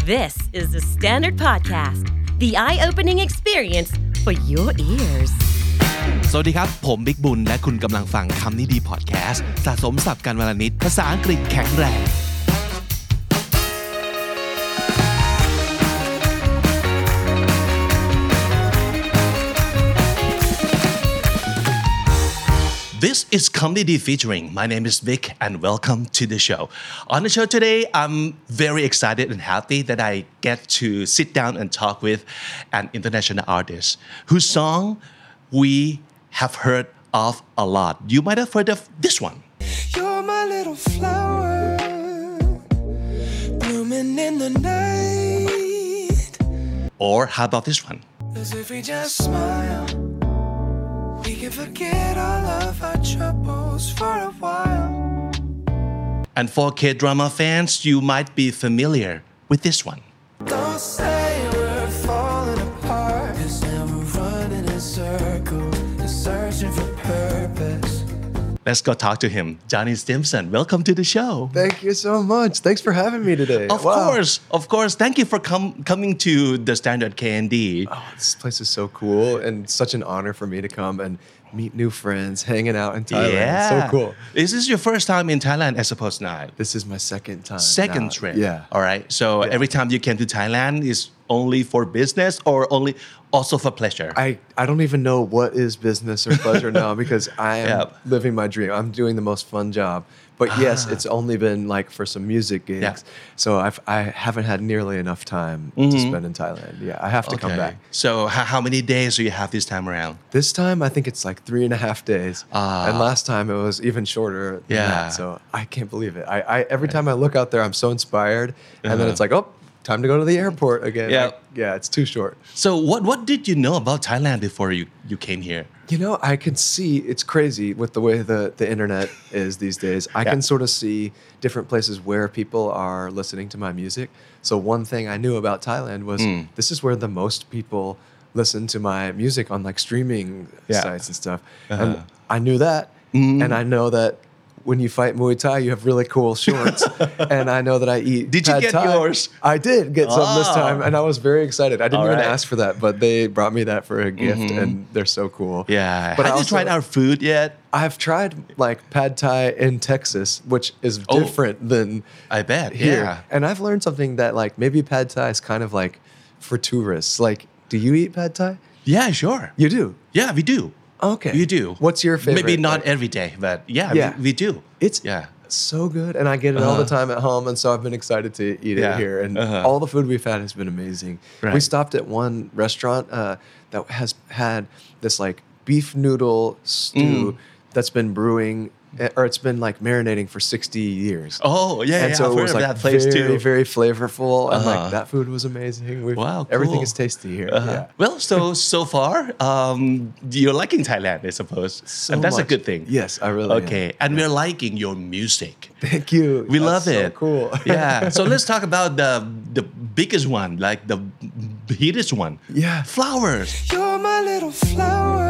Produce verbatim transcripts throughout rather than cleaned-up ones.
This is the Standard Podcast, the eye-opening experience for your ears. สวัสดีครับผมบิ๊กบุญและคุณกำลังฟังคำนี้ดีพอดแคสต์สะสมศัพท์กันวลนิดภาษาอังกฤษแข็งแรง This is Comedy Featuring. My name is Vic and welcome to the show. On the show today, I'm very excited and happy that I get to sit down and talk with an international artist whose song we have heard of a lot. You might have heard of this one. You're my little flower, blooming in the night. Or how about this one? As if we just smile, we can forget all of our troubles for a while. And for K-drama fans, you might be familiar with this one. Don't say we're falling apart, 'cause now we're running in circles and searching for purpose. Let's go talk to him. Johnny Stimson, welcome to the show. Thank you so much. Thanks for having me today. Of Wow. course, of course. Thank you for com- coming to the Standard K N D. Oh, this place is so cool and such an honor for me to come and meet new friends, hanging out in Thailand. Yeah. It's so cool. Is this your first time in Thailand, I suppose not? This is my second time. Second now. trip. Yeah. All right. So Yeah. every time you came to Thailand is only for business or only also for pleasure? I, I don't even know what is business or pleasure now because I am Yep. living my dream. I'm doing the most fun job. But yes, it's only been like for some music gigs. Yeah. So I've, I haven't had nearly enough time to spend in Thailand. Yeah, I have to come back. So how, how many days do you have this time around? This time, I think it's like three and a half days. Ah. And last time it was even shorter than Yeah. that. So I can't believe it. I, I every time I look out there, I'm so inspired. And then Uh-huh. it's like, oh, time to go to the airport again. Yeah. Like, yeah, it's too short. So what, what did you know about Thailand before you, you came here? You know, I can see, it's crazy with the way the, the internet is these days. I Yeah. can sort of see different places where people are listening to my music. So one thing I knew about Thailand was this is where the most people listen to my music on like streaming Yeah. sites and stuff. Uh-huh. And I knew that. And I know that when you fight Muay Thai, you have really cool shorts. And I know that I eat Did you pad get Thai. yours? I did get some this Oh. time. And I was very excited. I didn't All even right. ask for that, but they brought me that for a gift. And they're so cool. Yeah. But have I you also- tried our food yet? I've tried like pad Thai in Texas, which is Oh. different than I bet. here. Yeah. And I've learned something that like maybe pad Thai is kind of like for tourists. Like, do you eat pad Thai? Yeah, sure. You do. Yeah, we do. Okay. You do. What's your favorite? Maybe not like- every day, but yeah, Yeah. We, we do. It's Yeah. so good, and I get it all the Uh-huh. time at home, and so I've been excited to eat Yeah. it here. And Uh-huh. all the food we've had has been amazing. Right. We stopped at one restaurant uh, that has had this like beef noodle stew Mm. that's been brewing, eh, or it's been like marinating for sixty years. Oh, yeah, and yeah. so I've it heard was of like that place very, too. very flavorful, and Uh-huh. like that food was amazing. We've, Wow, everything cool. is tasty here. Uh-huh. Yeah. Well, so so far, um, you're liking Thailand, I suppose, So and that's much. a good thing. Yes, I really am. Okay, and we're liking your music. Thank you. We That's love so it. cool. Yeah. So let's talk about the the biggest one, like the hittest one. Yeah. Flowers. You're my little flower,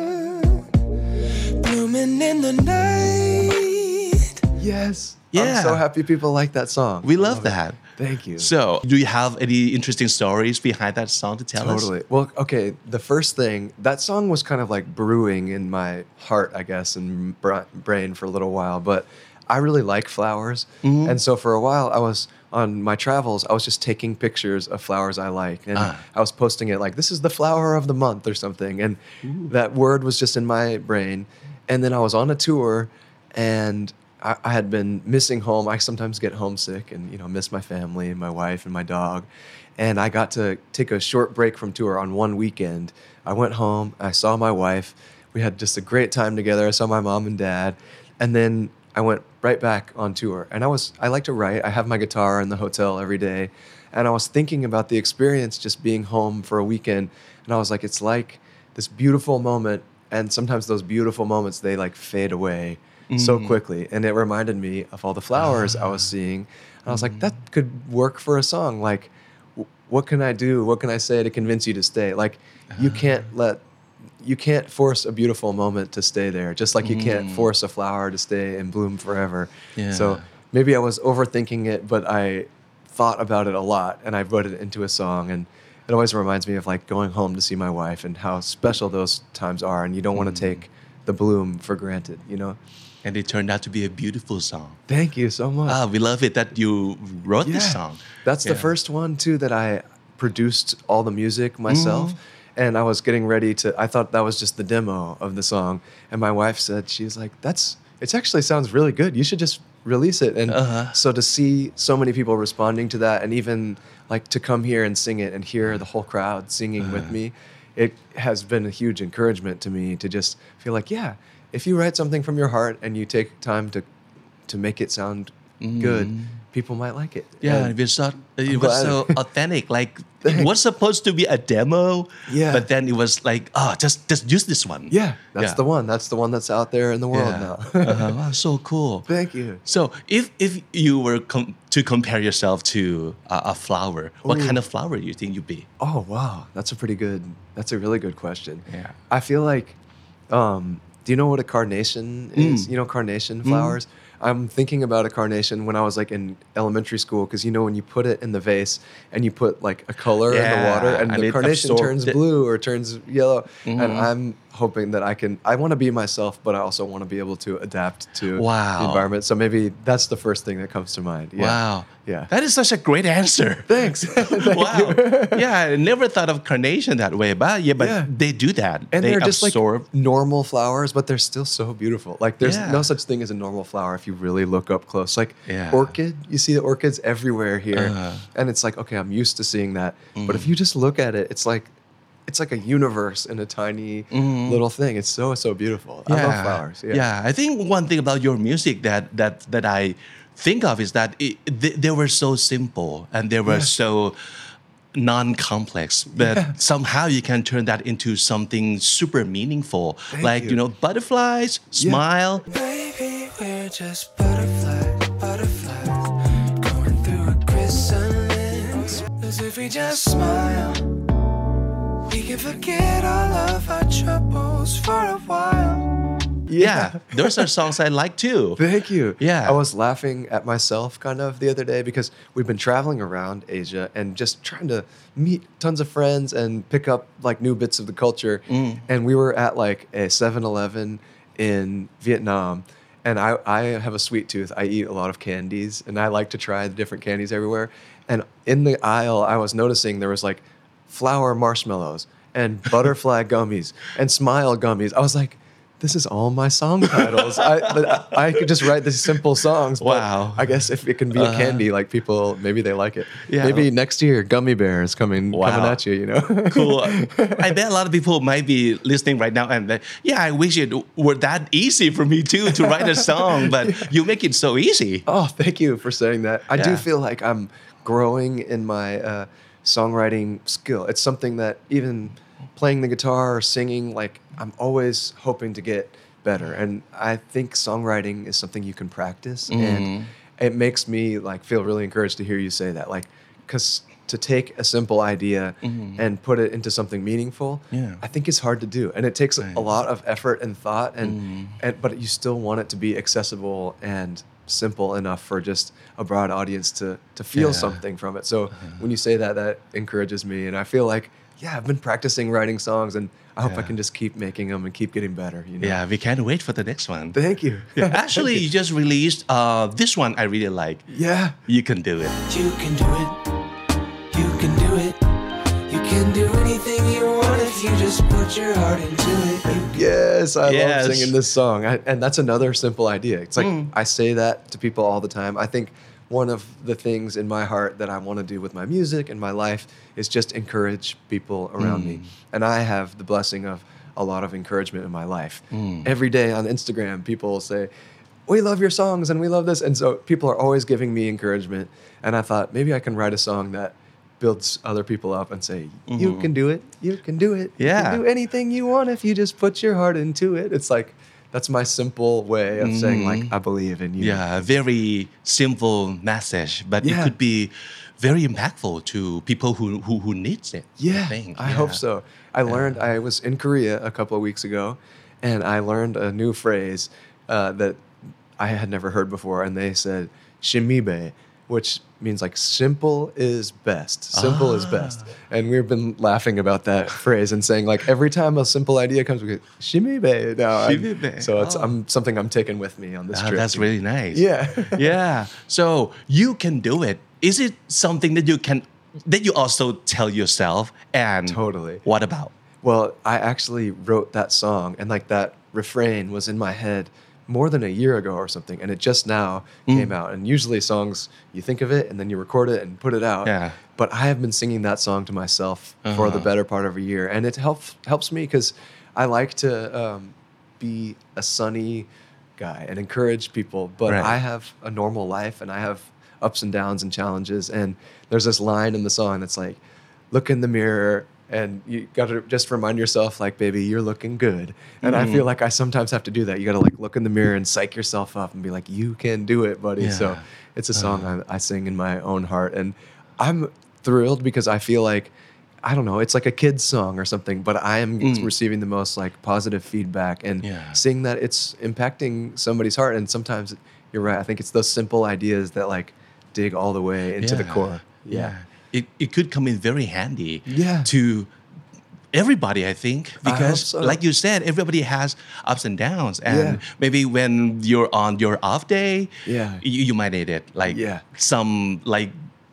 blooming in the night. Yes. Yeah. I'm so happy people like that song. We I love it. that. Thank you. So, do you have any interesting stories behind that song to tell us? Totally. Well, okay. The first thing, that song was kind of like brewing in my heart, I guess, and bra- brain for a little while. But I really like flowers. Mm-hmm. And so for a while, I was on my travels, I was just taking pictures of flowers I like. And Ah. I was posting it like, this is the flower of the month or something. And that word was just in my brain. And then I was on a tour and I, I had been missing home. I sometimes get homesick and, you know, miss my family and my wife and my dog. And I got to take a short break from tour on one weekend. I went home, I saw my wife. We had just a great time together. I saw my mom and dad. And then I went right back on tour. And I was, I like to write. I have my guitar in the hotel every day. And I was thinking about the experience just being home for a weekend. And I was like, it's like this beautiful moment. And sometimes those beautiful moments, they like fade away so quickly. And it reminded me of all the flowers I was seeing. And I was like, that could work for a song. Like, w- what can I do? What can I say to convince you to stay? Like, you can't let, you can't force a beautiful moment to stay there. Just like you can't force a flower to stay and bloom forever. Yeah. So maybe I was overthinking it, but I thought about it a lot, and I wrote it into a song, and it always reminds me of like going home to see my wife and how special those times are, and you don't want to take the bloom for granted, you know. And it turned out to be a beautiful song. Thank you so much. Ah, we love it that you wrote this song. That's the Yeah. first one too that I produced all the music myself. Mm-hmm. And I was getting ready to, I thought that was just the demo of the song. And my wife said, she's like, that's, it actually sounds really good. You should just release it. And Uh-huh. so to see so many people responding to that, and even like to come here and sing it and hear the whole crowd singing with me, it has been a huge encouragement to me to just feel like, yeah, if you write something from your heart and you take time to, to make it sound good, people might like it. Yeah, And it was so, it I'm was glad. so authentic. Like it was supposed to be a demo, Yeah. but then it was like, oh, just just use this one. Yeah, that's Yeah. the one. That's the one that's out there in the world Yeah. now. uh-huh. Wow, so cool. Thank you. So if if you were com- to compare yourself to a, a flower, what kind of flower do you think you'd be? Oh wow, that's a pretty good. That's a really good question. Yeah. I feel like, um, do you know what a carnation is? You know carnation flowers. I'm thinking about a carnation when I was like in elementary school, because you know when you put it in the vase and you put like a color in the Yeah, water, and, and the it carnation absorbed turns it. blue or turns yellow, and I'm hoping that I can. I want to be myself, but I also want to be able to adapt to Wow. the environment. So maybe that's the first thing that comes to mind. Yeah. Wow. Yeah. That is such a great answer. Thanks. Thank Wow. you. Yeah, I never thought of carnation that way, but yeah, but Yeah. they do that. And they they're just absorb. like normal flowers, but they're still so beautiful. Like there's Yeah. no such thing as a normal flower if you really look up close. Like Yeah. orchid, you see the orchids everywhere here, Uh-huh. and it's like okay, I'm used to seeing that. But if you just look at it, it's like it's like a universe in a tiny little thing. It's so so beautiful. I love flowers. Yeah. yeah. I think one thing about your music that that that I think of is that it, they, they were so simple and they were Yeah. so non-complex, but Yeah. somehow you can turn that into something super meaningful, Thank like you. you. know butterflies, smile. Baby, we're just butterflies, butterflies, going through a chrysalis. As if we just smile, we can forget all of our troubles for a while. Yeah, those are songs I like too. Thank you. Yeah. I was laughing at myself kind of the other day because we've been traveling around Asia and just trying to meet tons of friends and pick up like new bits of the culture. Mm. And we were at like a seven eleven in Vietnam. And I, I have a sweet tooth. I eat a lot of candies and I like to try the different candies everywhere. And in the aisle, I was noticing there was like flower marshmallows and butterfly gummies and smile gummies. I was like, this is all my song titles. I, I I could just write these simple songs. But Wow. I guess if it can be a candy, like people, maybe they like it. Yeah. Maybe next year, gummy bears coming Wow. coming at you. You know. Cool. I bet a lot of people might be listening right now and like, yeah, I wish it were that easy for me too to write a song, but you make it so easy. Oh, thank you for saying that. I Yeah. do feel like I'm growing in my uh, songwriting skill. It's something that even playing the guitar or singing, like I'm always hoping to get better. And I think songwriting is something you can practice, and it makes me like feel really encouraged to hear you say that. Like, because to take a simple idea and put it into something meaningful, Yeah. I think it's hard to do, and it takes Right. a lot of effort and thought, and, and but you still want it to be accessible and simple enough for just a broad audience to to feel Yeah. something from it. So when you say that, that encourages me, and I feel like yeah, I've been practicing writing songs, and I hope I Yeah. can just keep making them and keep getting better. You know? Yeah, we can't wait for the next one. Thank you. Actually, you just released uh, this one I really like. Yeah. You Can Do It. You can do it. You can do it. You can do anything you want if you just put your heart into it. You Yes, I Yes. love singing this song. I, and that's another simple idea. It's like Mm. I say that to people all the time. I think one of the things in my heart that I want to do with my music and my life is just encourage people around me. And I have the blessing of a lot of encouragement in my life. Every day on Instagram, people will say, we love your songs and we love this. And so people are always giving me encouragement. And I thought maybe I can write a song that builds other people up and say, you can do it. You can do it. You Yeah. can do anything you want if you just put your heart into it. It's like, that's my simple way of saying like, I believe in you. Yeah, a very simple message, but it Yeah. could be very impactful to people who who, who needs it. Yeah, I, think. I Yeah. hope so. I learned, I was in Korea a couple of weeks ago, and I learned a new phrase uh, that I had never heard before, and they said, shimibe, which means like simple is best. Simple is best. And we've been laughing about that phrase and saying like every time a simple idea comes, we go, shimmy bae. No, I'm- Shimmy bae. So it's Oh. I'm, something I'm taking with me on this Ah, trip. that's really nice. Yeah. Yeah. So you can do it. Is it something that you can that you also tell yourself? And Totally. What about? Well, I actually wrote that song and like that refrain was in my head more than a year ago or something. And it just now Mm. came out. And usually songs, you think of it and then you record it and put it out. Yeah. But I have been singing that song to myself for the Uh-huh. better part of a year. And it helps helps me because I like to um, be a sunny guy and encourage people. But Right. I have a normal life and I have ups and downs and challenges. And there's this line in the song that's like, look in the mirror and you got to just remind yourself like, baby, you're looking good. And I feel like I sometimes have to do that. You got to like look in the mirror and psych yourself up and be like, you can do it, buddy. So Yeah. it's a song I, I sing in my own heart. And I'm thrilled because I feel like, I don't know, it's like a kid's song or something, but I am receiving the most like positive feedback and Yeah. seeing that it's impacting somebody's heart. And sometimes you're right. I think it's those simple ideas that like dig all the way into the Yeah. core. Yeah. It, it could come in very handy Yeah. to everybody, I think, hope because so. like you said, everybody has ups and downs. And Yeah. maybe when you're on your off day, Yeah. you, you might need it. Like Yeah. some like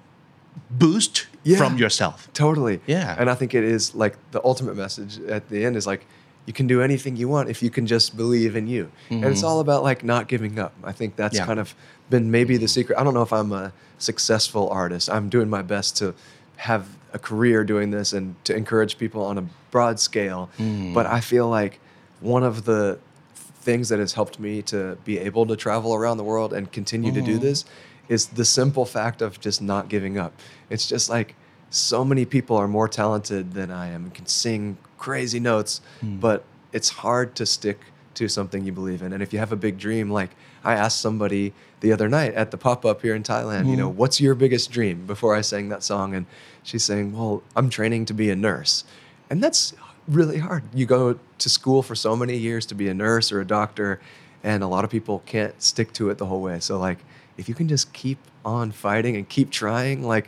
boost Yeah. from yourself. Totally. Yeah. And I think it is like the ultimate message at the end is like, you can do anything you want if you can just believe in you. And it's all about like not giving up. I think that's Yeah. kind of been maybe the secret. I don't know if I'm a successful artist. I'm doing my best to have a career doing this and to encourage people on a broad scale. But I feel like one of the things that has helped me to be able to travel around the world and continue to do this is the simple fact of just not giving up. It's just like so many people are more talented than I am and can sing crazy notes, but it's hard to stick to something you believe in. And if you have a big dream, like I asked somebody the other night at the pop-up here in Thailand, you know, what's your biggest dream before I sang that song? And she's saying, well, I'm training to be a nurse. And that's really hard. You go to school for so many years to be a nurse or a doctor, and a lot of people can't stick to it the whole way. So like, if you can just keep on fighting and keep trying, like,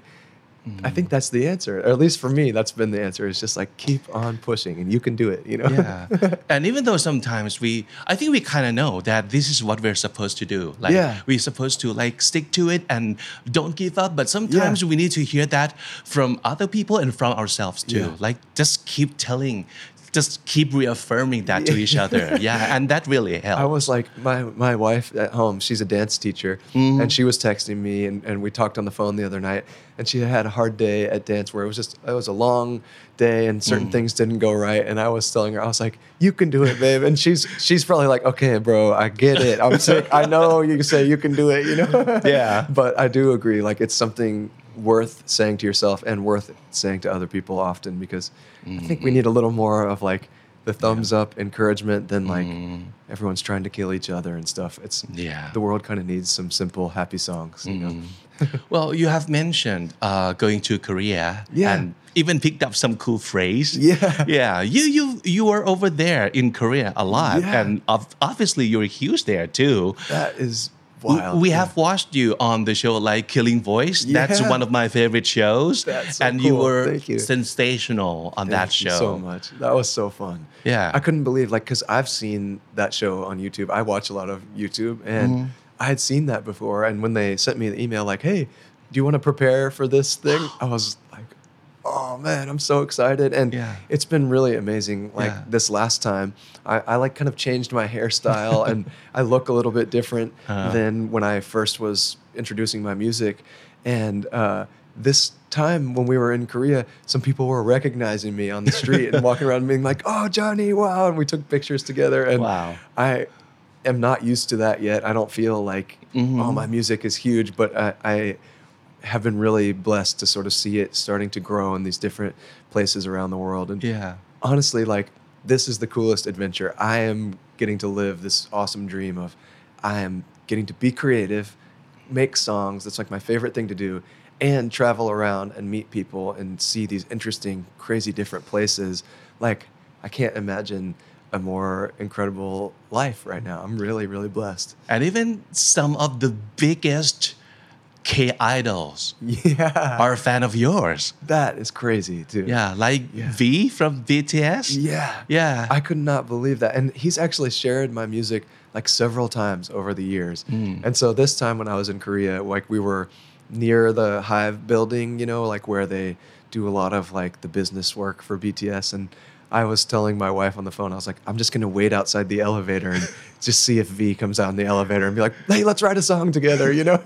I think that's the answer. Or at least for me, that's been the answer. It's just like, keep on pushing and you can do it, you know? Yeah. And even though sometimes we, I think we kind of know that this is what we're supposed to do. Like Yeah. we're supposed to like stick to it and don't give up. But sometimes Yeah. we need to hear that from other people and from ourselves too. Yeah. Like just keep telling, just keep reaffirming that to each other. Yeah. And that really helps. I was like, my, my wife at home, she's a dance teacher, Mm-hmm. and she was texting me, and, and we talked on the phone the other night, and she had a hard day at dance where it was just, it was a long day, and certain Mm. things didn't go right, and I was telling her, I was like, you can do it, babe, and she's she's probably like, okay, bro, I get it, I'm sick, I know you say you can do it, you know? Yeah. But I do agree, like, it's something worth saying to yourself and worth saying to other people often, because I think we need a little more of like the thumbs up encouragement than like everyone's trying to kill each other and stuff. It's Yeah. the world kind of needs some simple happy songs, you know. Well, you have mentioned uh, going to Korea Yeah. and even picked up some cool phrase. Yeah. Yeah. You you you were over there in Korea a lot. Yeah. And ob- obviously you're huge there too. That is W- wild. We Yeah. have watched you on the show like Killing Voice. That's Yeah. one of my favorite shows. That's so and you cool. were Thank you. sensational on that Thank you show. so much. That was so fun. Yeah. I couldn't believe like because I've seen that show on YouTube. I watch a lot of YouTube, and Mm-hmm. I had seen that before. And when they sent me the email, like, "Hey, do you want to prepare for this thing?" I was like, "Oh man, I'm so excited!" And Yeah. it's been really amazing. Like Yeah. this last time, I, I like kind of changed my hairstyle, and I look a little bit different Uh-huh. than when I first was introducing my music. And uh, this time when we were in Korea, some people were recognizing me on the street and walking around and being like, "Oh, Johnny, wow!" And we took pictures together. And Wow. I am not used to that yet. I don't feel like, Mm-hmm. oh, my music is huge, but I, I have been really blessed to sort of see it starting to grow in these different places around the world. And Yeah. honestly, like, this is the coolest adventure. I am getting to live this awesome dream of I am getting to be creative, make songs. That's like my favorite thing to do, and travel around and meet people and see these interesting, crazy, different places. Like, I can't imagine a more incredible life right now. I'm really, really blessed. And even some of the biggest K-idols Yeah. are a fan of yours. That is crazy, dude. Yeah, like Yeah. V from B T S. Yeah. Yeah. I could not believe that. And he's actually shared my music like several times over the years. Mm. And so this time when I was in Korea, like we were near the Hive building, you know, like where they do a lot of like the business work for B T S. And I was telling my wife on the phone, I was like, I'm just going to wait outside the elevator and just see if V comes out in the elevator and be like, hey, let's write a song together, you know?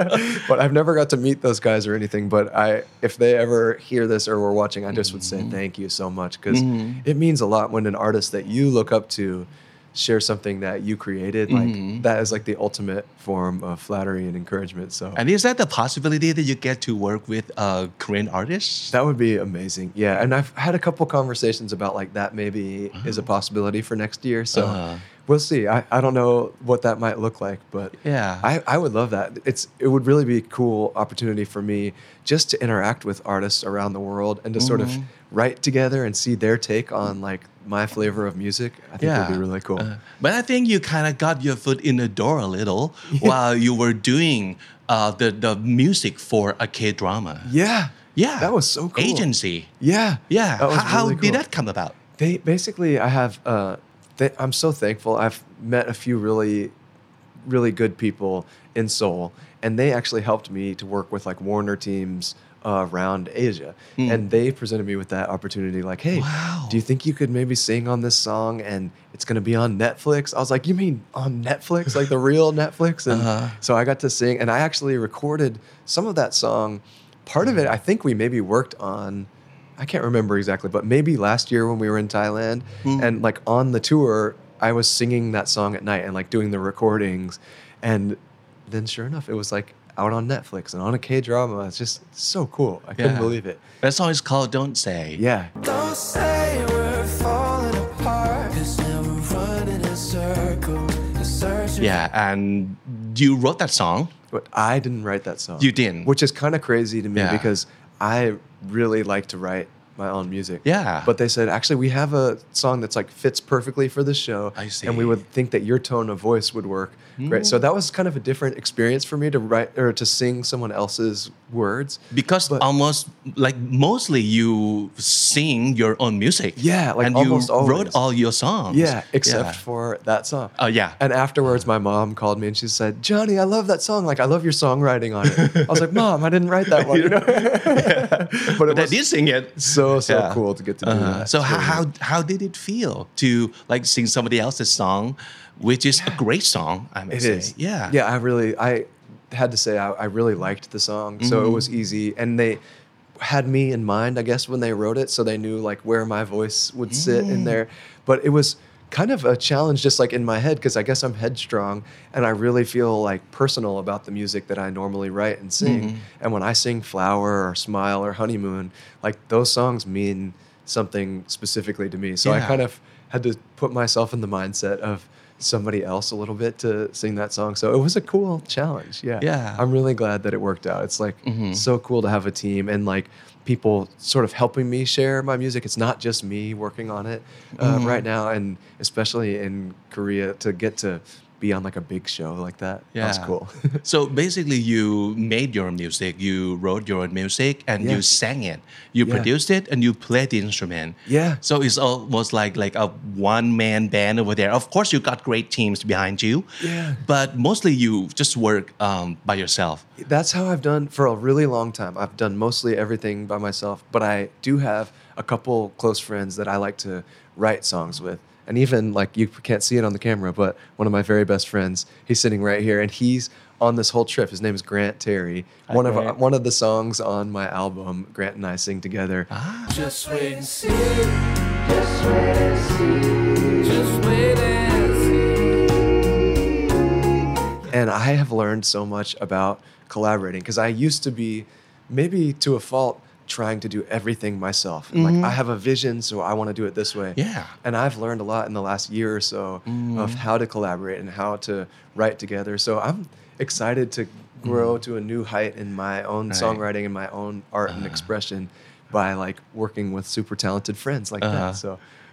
But I've never got to meet those guys or anything. But I, if they ever hear this or were watching, I just would say thank you so much because it means a lot when an artist that you look up to share something that you created. Like that is like the ultimate form of flattery and encouragement. So And is that the possibility that you get to work with uh, Korean artists? that would be amazing. Yeah. And I've had a couple conversations about like that maybe is a possibility for next year. So Uh-huh. we'll see. I, I don't know what that might look like, but Yeah. I, I would love that. It's it would really be a cool opportunity for me just to interact with artists around the world and to sort of write together and see their take on like my flavor of music. I think would be really cool. Uh, but I think you kind of got your foot in the door a little while you were doing uh, the, the music for a K-drama. yeah. Yeah. That was so cool. Agency. Yeah. Yeah. That was how how really did cool. that come about? They basically, I have. Uh, they, I'm so thankful. I've met a few really, really good people in Seoul, and they actually helped me to work with like Warner teams uh, around Asia, and they presented me with that opportunity. Like, hey, Wow. do you think you could maybe sing on this song, and it's going to be on Netflix? I was like, you mean on Netflix, like the real Netflix? And Uh-huh. so I got to sing, and I actually recorded some of that song. Part of it, I think we maybe worked on. I can't remember exactly, but maybe last year when we were in Thailand and like on the tour, I was singing that song at night and like doing the recordings. And then sure enough, it was like out on Netflix and on a K-drama. It's just so cool. I couldn't Yeah. believe it. That song is called Don't Say. Yeah. Don't say we're falling apart, 'cause now we're running in circles, and searching. Yeah, and you wrote that song. But I didn't write that song. You didn't? Which is kind of crazy to me Yeah. because I really like to write my own music. Yeah. But they said, actually, we have a song that's like fits perfectly for this show. I see. And we would think that your tone of voice would work great. So that was kind of a different experience for me to write or to sing someone else's words. Because But- almost like mostly you sing your own music. Yeah, like and almost you always. wrote all your songs. Yeah, except Yeah. for that song. Oh, yeah. And afterwards, my mom called me and she said, Johnny, I love that song. Like, I love your songwriting on it. I was like, Mom, I didn't write that one. You know? But it But I was did sing it. so, so Yeah. cool to get to do Uh-huh. that. So It's how, really how neat. how did it feel to like sing somebody else's song, which is a great song, I may It say. is. Yeah. Yeah, I really, I had to say I, I really liked the song. So it was easy. And they had me in mind, I guess, when they wrote it. So they knew like where my voice would sit in there. But it was kind of a challenge just like in my head because I guess I'm headstrong and I really feel like personal about the music that I normally write and sing. And when I sing Flower or Smile or Honeymoon, like those songs mean something specifically to me. So I Yeah. kind of had to put myself in the mindset of somebody else a little bit to sing that song. So it was a cool challenge. Yeah. Yeah. I'm really glad that it worked out. It's like so cool to have a team and like people sort of helping me share my music. It's not just me working on it uh, right now. And especially in Korea to get to be on like a big show like that. That's Yeah. cool. So basically, you made your own music, you wrote your own music, and Yeah. you sang it. You Yeah. produced it, and you played the instrument. Yeah. So it's almost like like a one man band over there. Of course, you got great teams behind you. Yeah. But mostly, you just work um, by yourself. That's how I've done for a really long time. I've done mostly everything by myself, but I do have a couple close friends that I like to write songs with. And even like you can't see it on the camera, but one of my very best friends, he's sitting right here, and he's on this whole trip. His name is Grant Terry. Hi, one Grant. of one of the songs on my album, Grant and I sing together. Just wait and see. Just wait and see. Just wait and see. And I have learned so much about collaborating because I used to be, maybe to a fault, trying to do everything myself. And like I have a vision, so I want to do it this way. Yeah. And I've learned a lot in the last year or so of how to collaborate and how to write together. So I'm excited to grow to a new height in my own Right. songwriting and my own art and expression by like working with super talented friends like Uh-huh. that. So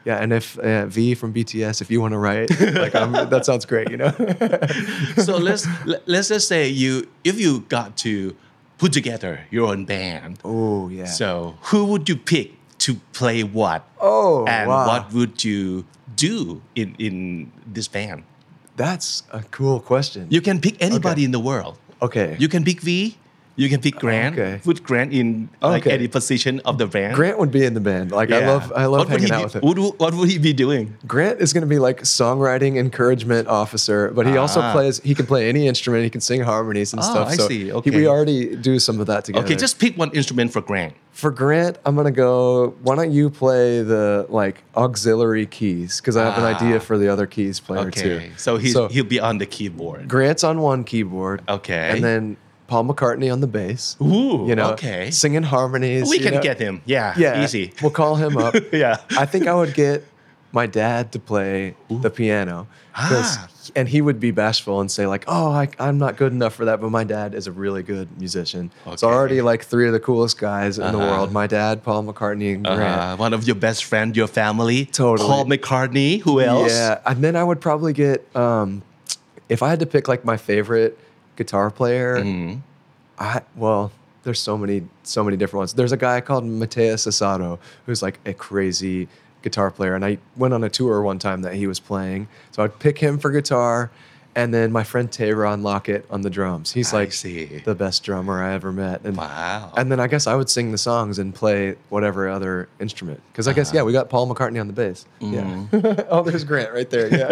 Yeah, and if uh, V from B T S, if you want to write, like I'm, that sounds great, you know. So let's let's just say you if you got to put together your own band. Oh yeah. So who would you pick to play what? Oh, and wow. what would you do in in this band? That's a cool question. You can pick anybody Okay. in the world. Okay. You can pick V. You can pick Grant. Okay. Put Grant in like Okay. any position of the band. Grant would be in the band. Like I Yeah. love, I love what would hanging he out be, with him. What, would- what would he be doing? Grant is going to be like songwriting encouragement officer, but he also Ah. plays. He can play any instrument. He can sing harmonies and Oh, stuff. I so see. he- Okay. we already do some of that together. Okay, just pick one instrument for Grant. for Grant, I'm gonna go. Why don't you play the like auxiliary keys? Because I have an Ah. idea for the other keys player too. Okay, so he's, he'll be on the keyboard. Grant's on one keyboard. Okay. And then Paul McCartney on the bass. Ooh, you know, okay. singing harmonies. We you can know? get him. Yeah, Yeah, easy. We'll call him up. Yeah. I think I would get my dad to play the piano. 'cause- Ah. And he would be bashful and say like, "Oh, I, I'm not good enough for that." But my dad is a really good musician. So Okay. already like three of the coolest guys in the Uh-huh. world: my dad, Paul McCartney, and Grant. Uh, one of your best friend, your family. Totally. Paul McCartney. Who else? Yeah, and then I would probably get um, if I had to pick like my favorite guitar player. Mm-hmm. I well, there's so many so many different ones. There's a guy called Mateus Asado who's like a crazy guitar player, and I went on a tour one time that he was playing, so I'd pick him for guitar. And then my friend Tayron Lockett on the drums. He's I like see. the best drummer I ever met. And, Wow. And then I guess I would sing the songs and play whatever other instrument. Because I guess, Uh-huh. yeah, we got Paul McCartney on the bass. Mm. Yeah. Oh, there's Grant right there. Yeah.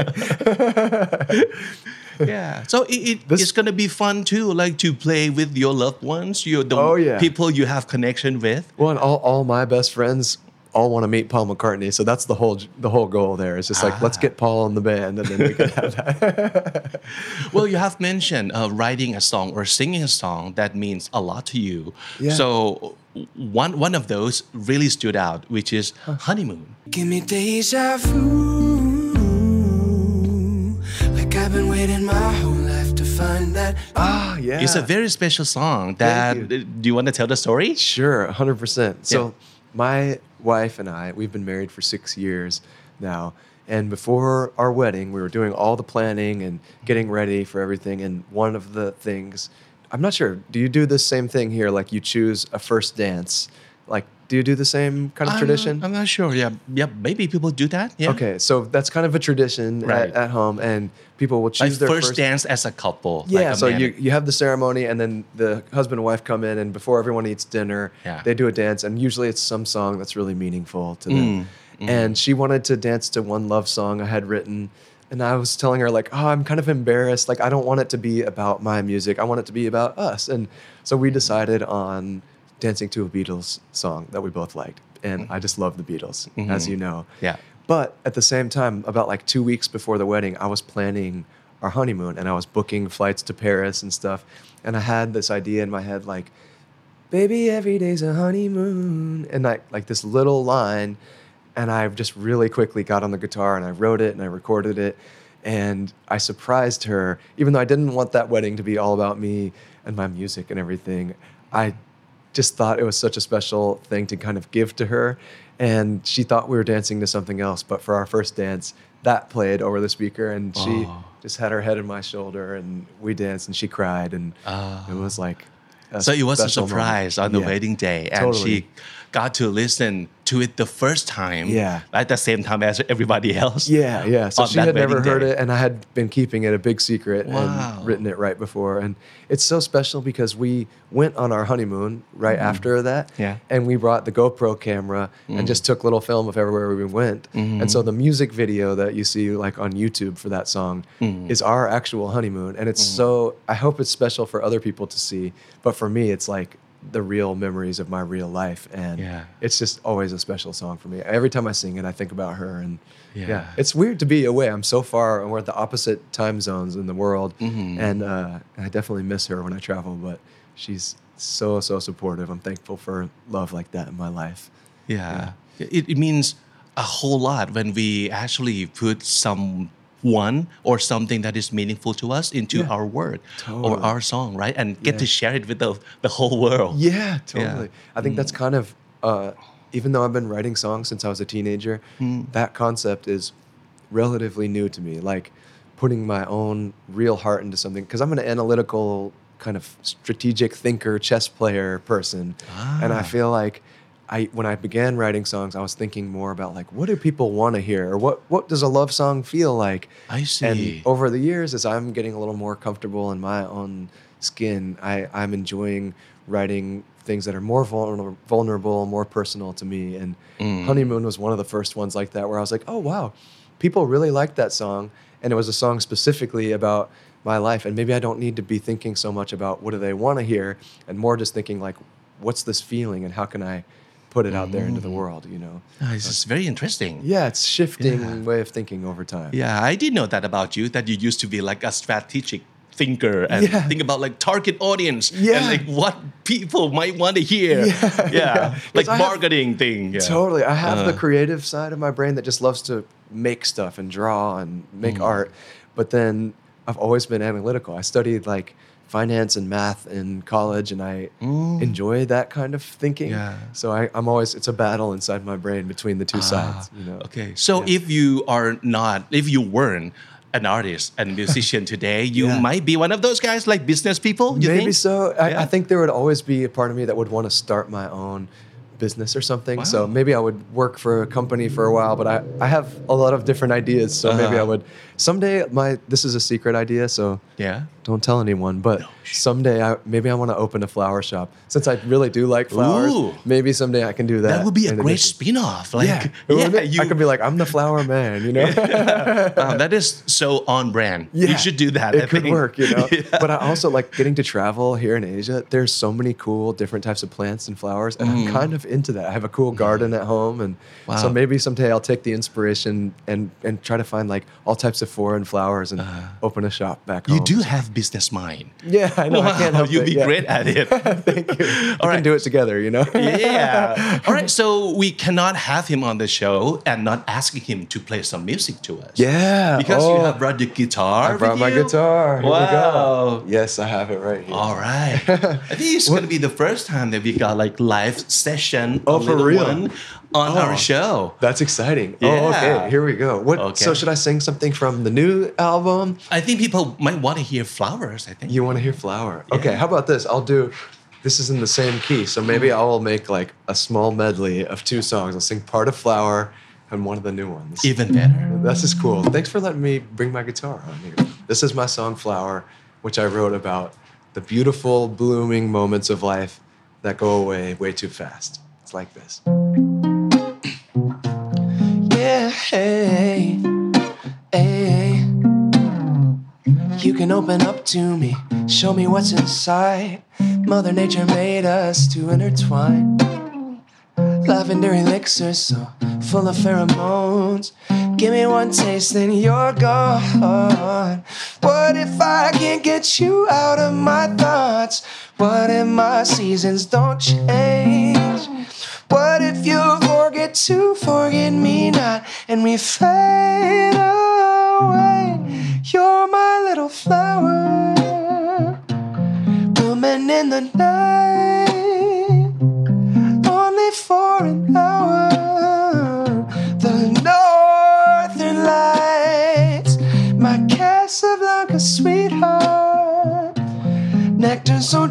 Yeah. So it, it, This- it's going to be fun too, like to play with your loved ones, your the Oh, yeah. people you have connection with. Well, and all, all my best friends all want to meet Paul McCartney. So that's the whole the whole goal there. It's just like, let's Ah. get Paul in the band and then we can have that. Well, you have mentioned uh, writing a song or singing a song that means a lot to you. Yeah. So one one of those really stood out, which is Honeymoon. Give me deja vu. Like I've been waiting my whole life to find that. Ah, yeah. It's a very special song. That Thank you. do you want to tell the story? Sure, one hundred percent. So, Yeah. my wife and I, we've been married for six years now. And before our wedding, we were doing all the planning and getting ready for everything. And one of the things, I'm not sure, do you do the same thing here? Like you choose a first dance? Like, do you do the same kind of I'm tradition? not- I'm not sure. Yeah, yeah. Maybe people do that. Yeah. Okay, so that's kind of a tradition Right. at, at home. And people will choose Like their first, first dance as a couple. Yeah, like a so man you, and- you have the ceremony, and then the husband and wife come in, and before everyone eats dinner, Yeah. they do a dance, and usually it's some song that's really meaningful to Mm, them. And she wanted to dance to one love song I had written, and I was telling her like, oh, I'm kind of embarrassed. Like, I don't want it to be about my music. I want it to be about us. And so we decided on dancing to a Beatles song that we both liked, and I just love the Beatles, as you know. Yeah. But at the same time, about like two weeks before the wedding, I was planning our honeymoon and I was booking flights to Paris and stuff. And I had this idea in my head like, baby, every day's a honeymoon. And like, like this little line. And I just really quickly got on the guitar and I wrote it and I recorded it. And I surprised her, even though I didn't want that wedding to be all about me and my music and everything. I just thought it was such a special thing to kind of give to her. And she thought we were dancing to something else. But for our first dance, that played over the speaker. And she Oh. just had her head in my shoulder and we danced and she cried. And Oh. it was like, a So it was a special surprise moment. on the Yeah. wedding day, and Totally. she got to listen to it the first time. Yeah. At the same time as everybody else. Yeah, yeah. So on she that had never wedding heard day. it, and I had been keeping it a big secret Wow. and written it right before. And it's so special because we went on our honeymoon right after that. Yeah. And we brought the GoPro camera and just took little film of everywhere we went. And so the music video that you see like on YouTube for that song is our actual honeymoon. And it's so, I hope it's special for other people to see. But for me, it's like the real memories of my real life. And Yeah. it's just always a special song for me. Every time I sing it, I think about her. And Yeah. yeah, it's weird to be away. I'm so far, and we're at the opposite time zones in the world, Mm-hmm. and uh, I definitely miss her when I travel. But she's so so supportive. I'm thankful for love like that in my life. Yeah. It, it means a whole lot when we actually put someone or something that is meaningful to us into Yeah. our work Totally. or our song, right? And get Yeah. to share it with the, the whole world. Yeah, totally. I think Mm. that's kind of uh, even though I've been writing songs since I was a teenager, that concept is relatively new to me. Like putting my own real heart into something, because I'm an analytical kind of strategic thinker, chess player person, Ah. and I feel like I when I began writing songs, I was thinking more about like, what do people want to hear, or what what does a love song feel like? I see. And over the years, as I'm getting a little more comfortable in my own skin, I, I'm enjoying writing things that are more vulner- vulnerable, more personal to me. And Mm. Honeymoon was one of the first ones like that, where I was like, oh, wow, people really liked that song. And it was a song specifically about my life. And maybe I don't need to be thinking so much about what do they want to hear, and more just thinking like, what's this feeling and how can I put it out there into the world, you know? Ah, this is very interesting. Yeah, it's shifting Yeah. way of thinking over time. Yeah, I did know that about you, that you used to be like a strategic thinker and Yeah. think about like target audience Yeah. and like what people might want to hear. Yeah, yeah. Like 'Cause I have- marketing thing. Yeah. Totally. I have the Uh. creative side of my brain that just loves to make stuff and draw and make Mm. art. But then I've always been analytical. I studied like finance and math in college, and I enjoy that kind of thinking. Mm. Yeah. So I, I'm always, it's a battle inside my brain between the two sides, you know? Ah, Okay, so Yeah. if you are not, if you weren't an artist and musician today, you Yeah. might be one of those guys, like business people. You Maybe think? so. I, Yeah. I think there would always be a part of me that would want to start my own business or something. So Wow. maybe I would work for a company for a while, but I, I have a lot of different ideas. So maybe I Uh-huh. would someday my this is a secret idea, so Yeah. don't tell anyone, but someday I maybe I want to open a flower shop. Since I really do like flowers, Ooh. maybe someday I can do that. That would be a in great addition. spin-off. Like, Yeah, yeah, wouldn't it? you. I could be like, I'm the flower man, you know? Uh, that is so on brand. Yeah, You should do that. It I could think. work, you know. Yeah. But I also like getting to travel here in Asia. There's so many cool different types of plants and flowers, and I'm kind of into that. I have a cool garden at home, and Wow. so maybe someday I'll take the inspiration and and try to find like all types of foreign flowers and open a shop back You home. do have business mind. Yeah, I know. I can't help You'd it. be yeah. great at it. Thank you. We All can right. do it together, you know. Yeah. All right. So we cannot have him on the show and not asking him to play some music to us. Yeah. Because you Oh, have brought the guitar. I brought with my you? guitar. Here we Wow. go. Yes, I have it right here. All right. I think it's going to be the first time that we got like live session. Oh, a for little real? one on Oh. our show. That's exciting. Yeah. Oh, okay. Here we go. What? Okay. So should I sing something from the new album? I think people might want to hear flowers. I think. You want to hear Flower? Okay. How about this? I'll do. This is in the same key, so maybe I will make like a small medley of two songs. I'll sing part of Flower and one of the new ones. Even better. This is cool. Thanks for letting me bring my guitar on here. This is my song Flower, which I wrote about the beautiful blooming moments of life that go away way too fast. It's like this. Yeah, hey, hey. You can open up to me, show me what's inside. Mother Nature made us to intertwine. Lavender elixir so full of pheromones. Give me one taste, then you're gone. What if I can't get you out of my thoughts? What if my seasons don't change? What if you forget to forget me not, and we fade away? You're my little flower, blooming in the night, only for an hour. The northern lights, my Casablanca sweetheart, nectar so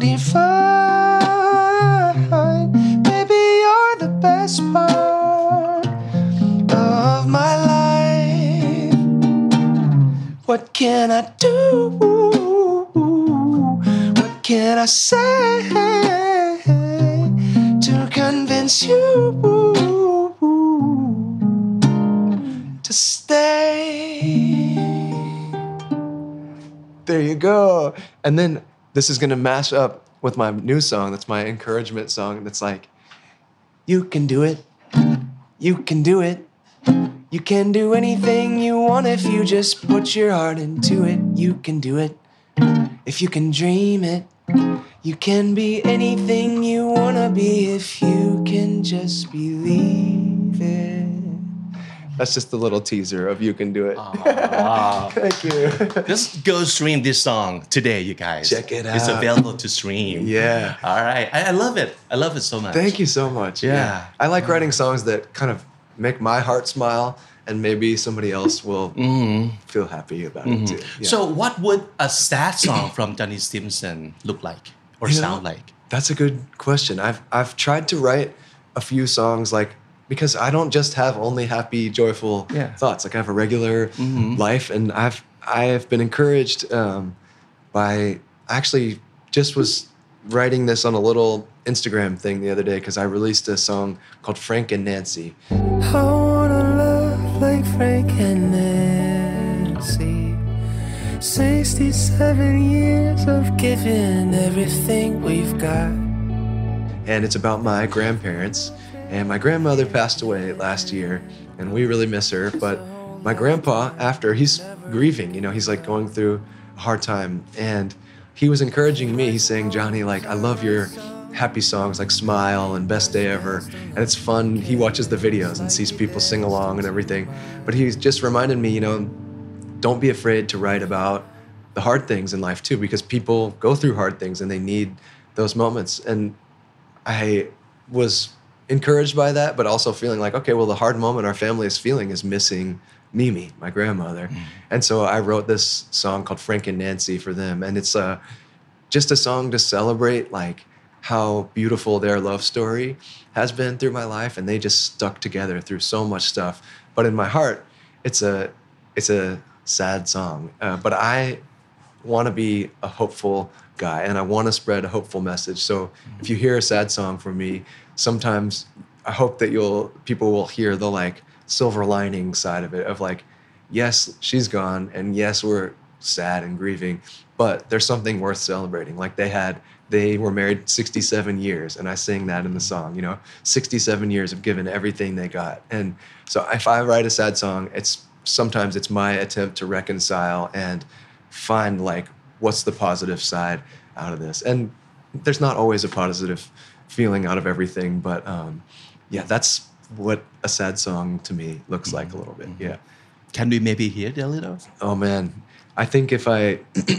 divine. Baby, you're the best part of my life. What can I do? What can I say to convince you to stay? There you go. And then this is gonna mash up with my new song. That's my encouragement song. That's like, you can do it. You can do it. You can do anything you want if you just put your heart into it. You can do it if you can dream it. You can be anything you wanna be if you can just believe it. That's just a little teaser of You Can Do It. Wow. Thank you. Just go stream this song today, you guys. Check it It's out. available to stream. Yeah. All right. I, I love it. I love it so much. Thank you so much. Yeah. I like writing songs that kind of make my heart smile, and maybe somebody else will feel happy about it too. Yeah. So, what would a sad song from Johnny Stimson look like or You know, sound like? That's a good question. I've I've tried to write a few songs like because I don't just have only happy, joyful Yeah. thoughts. Like I have a regular life, and I've I have been encouraged um, by actually just was writing this on a little Instagram thing the other day because I released a song called Frank and Nancy. I wanna love like Frank and Nancy. sixty-seven years of giving everything we've got. And it's about my grandparents. And my grandmother passed away last year, and we really miss her. But my grandpa, after, he's grieving, you know, he's like going through a hard time. And he was encouraging me. He's saying, Johnny, like, I love your happy songs like Smile and Best Day Ever. And it's fun. He watches the videos and sees people sing along and everything. But he just reminded me, you know, don't be afraid to write about the hard things in life too, because people go through hard things and they need those moments. And I was encouraged by that, but also feeling like, okay, well, the hard moment our family is feeling is missing Mimi, my grandmother. Mm. And so I wrote this song called Frank and Nancy for them. And it's uh, just a song to celebrate like how beautiful their love story has been through my life. And they just stuck together through so much stuff. But in my heart, it's a, it's a sad song. Uh, but I want to be a hopeful guy, and I want to spread a hopeful message. So if you hear a sad song from me, sometimes I hope that you'll people will hear the like silver lining side of it of like, yes, she's gone, and yes, we're sad and grieving, but there's something worth celebrating. Like they had they were married sixty-seven years, and I sing that in the song, you know, sixty-seven years of giving everything they got. And so if I write a sad song, it's sometimes it's my attempt to reconcile and find like what's the positive side out of this. And there's not always a positive feeling out of everything, but um, yeah, that's what a sad song to me looks mm-hmm. like a little bit. Mm-hmm. Yeah. Can we maybe hear it a little? Oh man, I think if I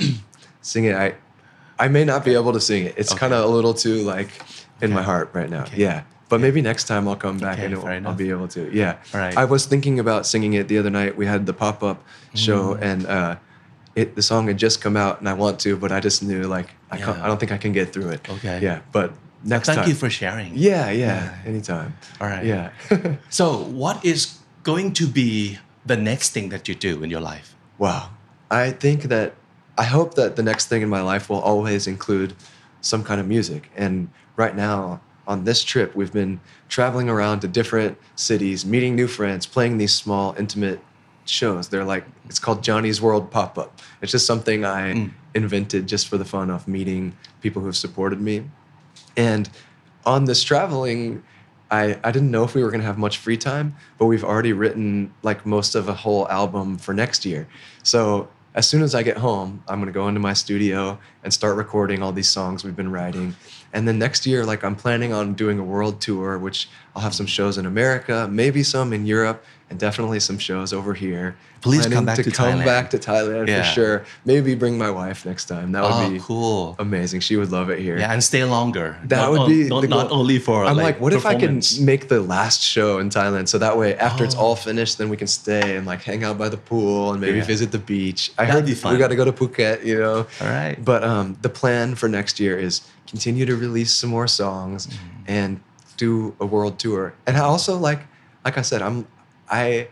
sing it, I I may not be able to sing it. It's okay. kind of a little too like in okay. my heart right now. Okay. Yeah. But maybe next time I'll come back okay, and it'll, I'll be able to. Yeah. All right. I was thinking about singing it the other night. We had the pop-up show, mm. and uh, it the song had just come out, and I want to, but I just knew like I yeah. can't, I don't think I can get through it. Okay. Yeah. But next Thank time. you for sharing. Yeah, yeah. Yeah. Anytime. All right. Yeah. So what is going to be the next thing that you do in your life? Wow. I think that I hope that the next thing in my life will always include some kind of music. And right now, on this trip, we've been traveling around to different cities, meeting new friends, playing these small, intimate shows. They're like, it's called Johnny's World Pop-Up. It's just something I mm. invented just for the fun of meeting people who have supported me. And on this traveling, I, I didn't know if we were going to have much free time, but we've already written like most of a whole album for next year. So as soon as I get home, I'm going to go into my studio and start recording all these songs we've been writing. And then next year, like I'm planning on doing a world tour, which I'll have some shows in America, maybe some in Europe, and definitely some shows over here. Please Planning come back to, to come Thailand. back to Thailand yeah. for sure. Maybe bring my wife next time. That would oh, be cool. amazing. She would love it here. Yeah, and stay longer. That not would on, be not, the not goal. only for. I'm like, like, what if I can performance? make the last show in Thailand so that way after oh. it's all finished, then we can stay and like hang out by the pool and maybe yeah. visit the beach. I That'd heard be fun. we got to go to Phuket, you know. All right. But um, the plan for next year is continue to release some more songs mm-hmm. and do a world tour. And I also like, like I said, I'm I.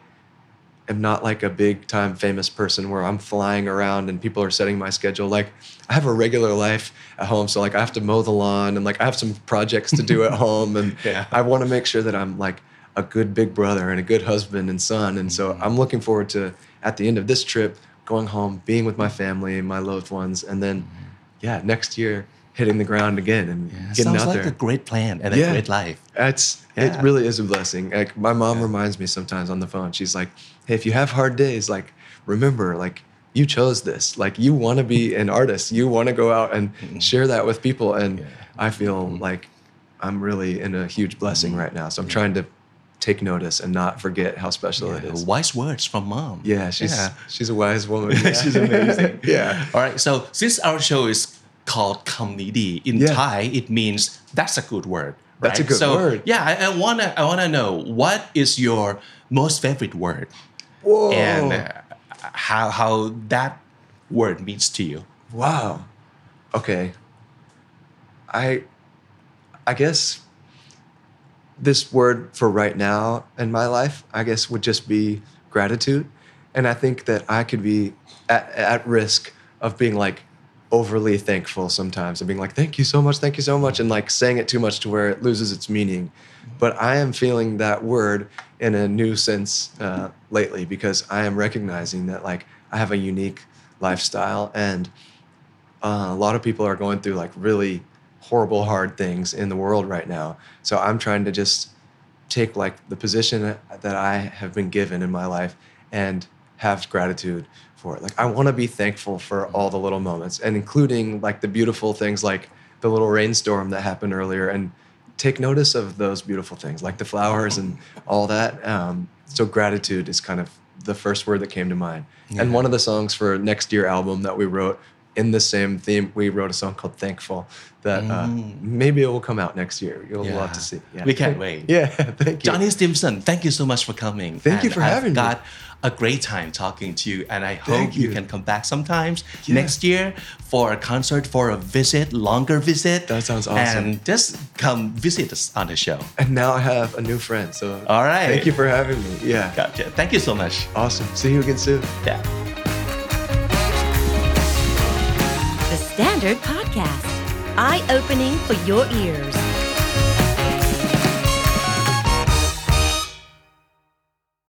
am not like a big time famous person where I'm flying around and people are setting my schedule. Like I have a regular life at home. So like I have to mow the lawn and like I have some projects to do at home. And yeah. I want to make sure that I'm like a good big brother and a good husband and son. And so I'm looking forward to, at the end of this trip, going home, being with my family and my loved ones. And then, yeah, next year, hitting the ground again and yeah. getting Sounds out like there. a great plan and Yeah. a great life. It's Yeah. it really is a blessing. Like my mom Yeah. reminds me sometimes on the phone. She's like, "Hey, if you have hard days, like remember, like you chose this. Like you want to be an artist. You want to go out and Mm-hmm. share that with people." And Yeah. I feel Mhm. like I'm really in a huge blessing right now. So I'm trying to take notice and not forget how special it Yeah, is. wise words from mom. Yeah, she's Yeah. she's a wise woman. Yeah. She's amazing. Yeah. All right. So since our show is called Kamnidi, in Yeah. Thai it means that's a good word. Right? That's a good so, word. Yeah, I, I wanna I wanna know what is your most favorite word Whoa. and uh, how how that word means to you. Wow. Okay. I I guess this word for right now in my life, I guess would just be gratitude. And I think that I could be at, at risk of being like overly thankful sometimes and being like, thank you so much, thank you so much, and like saying it too much to where it loses its meaning. But I am feeling that word in a new sense uh, lately because I am recognizing that like I have a unique lifestyle and uh, a lot of people are going through like really horrible, hard things in the world right now. So I'm trying to just take like the position that I have been given in my life and have gratitude for it. Like I want to be thankful for all the little moments and including like the beautiful things like the little rainstorm that happened earlier and take notice of those beautiful things like the flowers and all that. Um, so gratitude is kind of the first word that came to mind. Yeah. And one of the songs for next year album that we wrote in the same theme, we wrote a song called Thankful that uh, maybe it will come out next year. You'll Yeah. love to see. Yeah. We can't wait. Yeah, thank you. Johnny Stimson, thank you so much for coming. Thank you And for having I've me. got a great time talking to you, and I hope Thank you. you. can come back sometimes Yeah. next year for a concert, for a visit, longer visit. That sounds awesome. And just come visit us on the show. And now I have a new friend. So All right. thank you for having me. Yeah. Gotcha. Thank you so much. Awesome. See you again soon. Yeah. The Standard Podcast, eye-opening for your ears.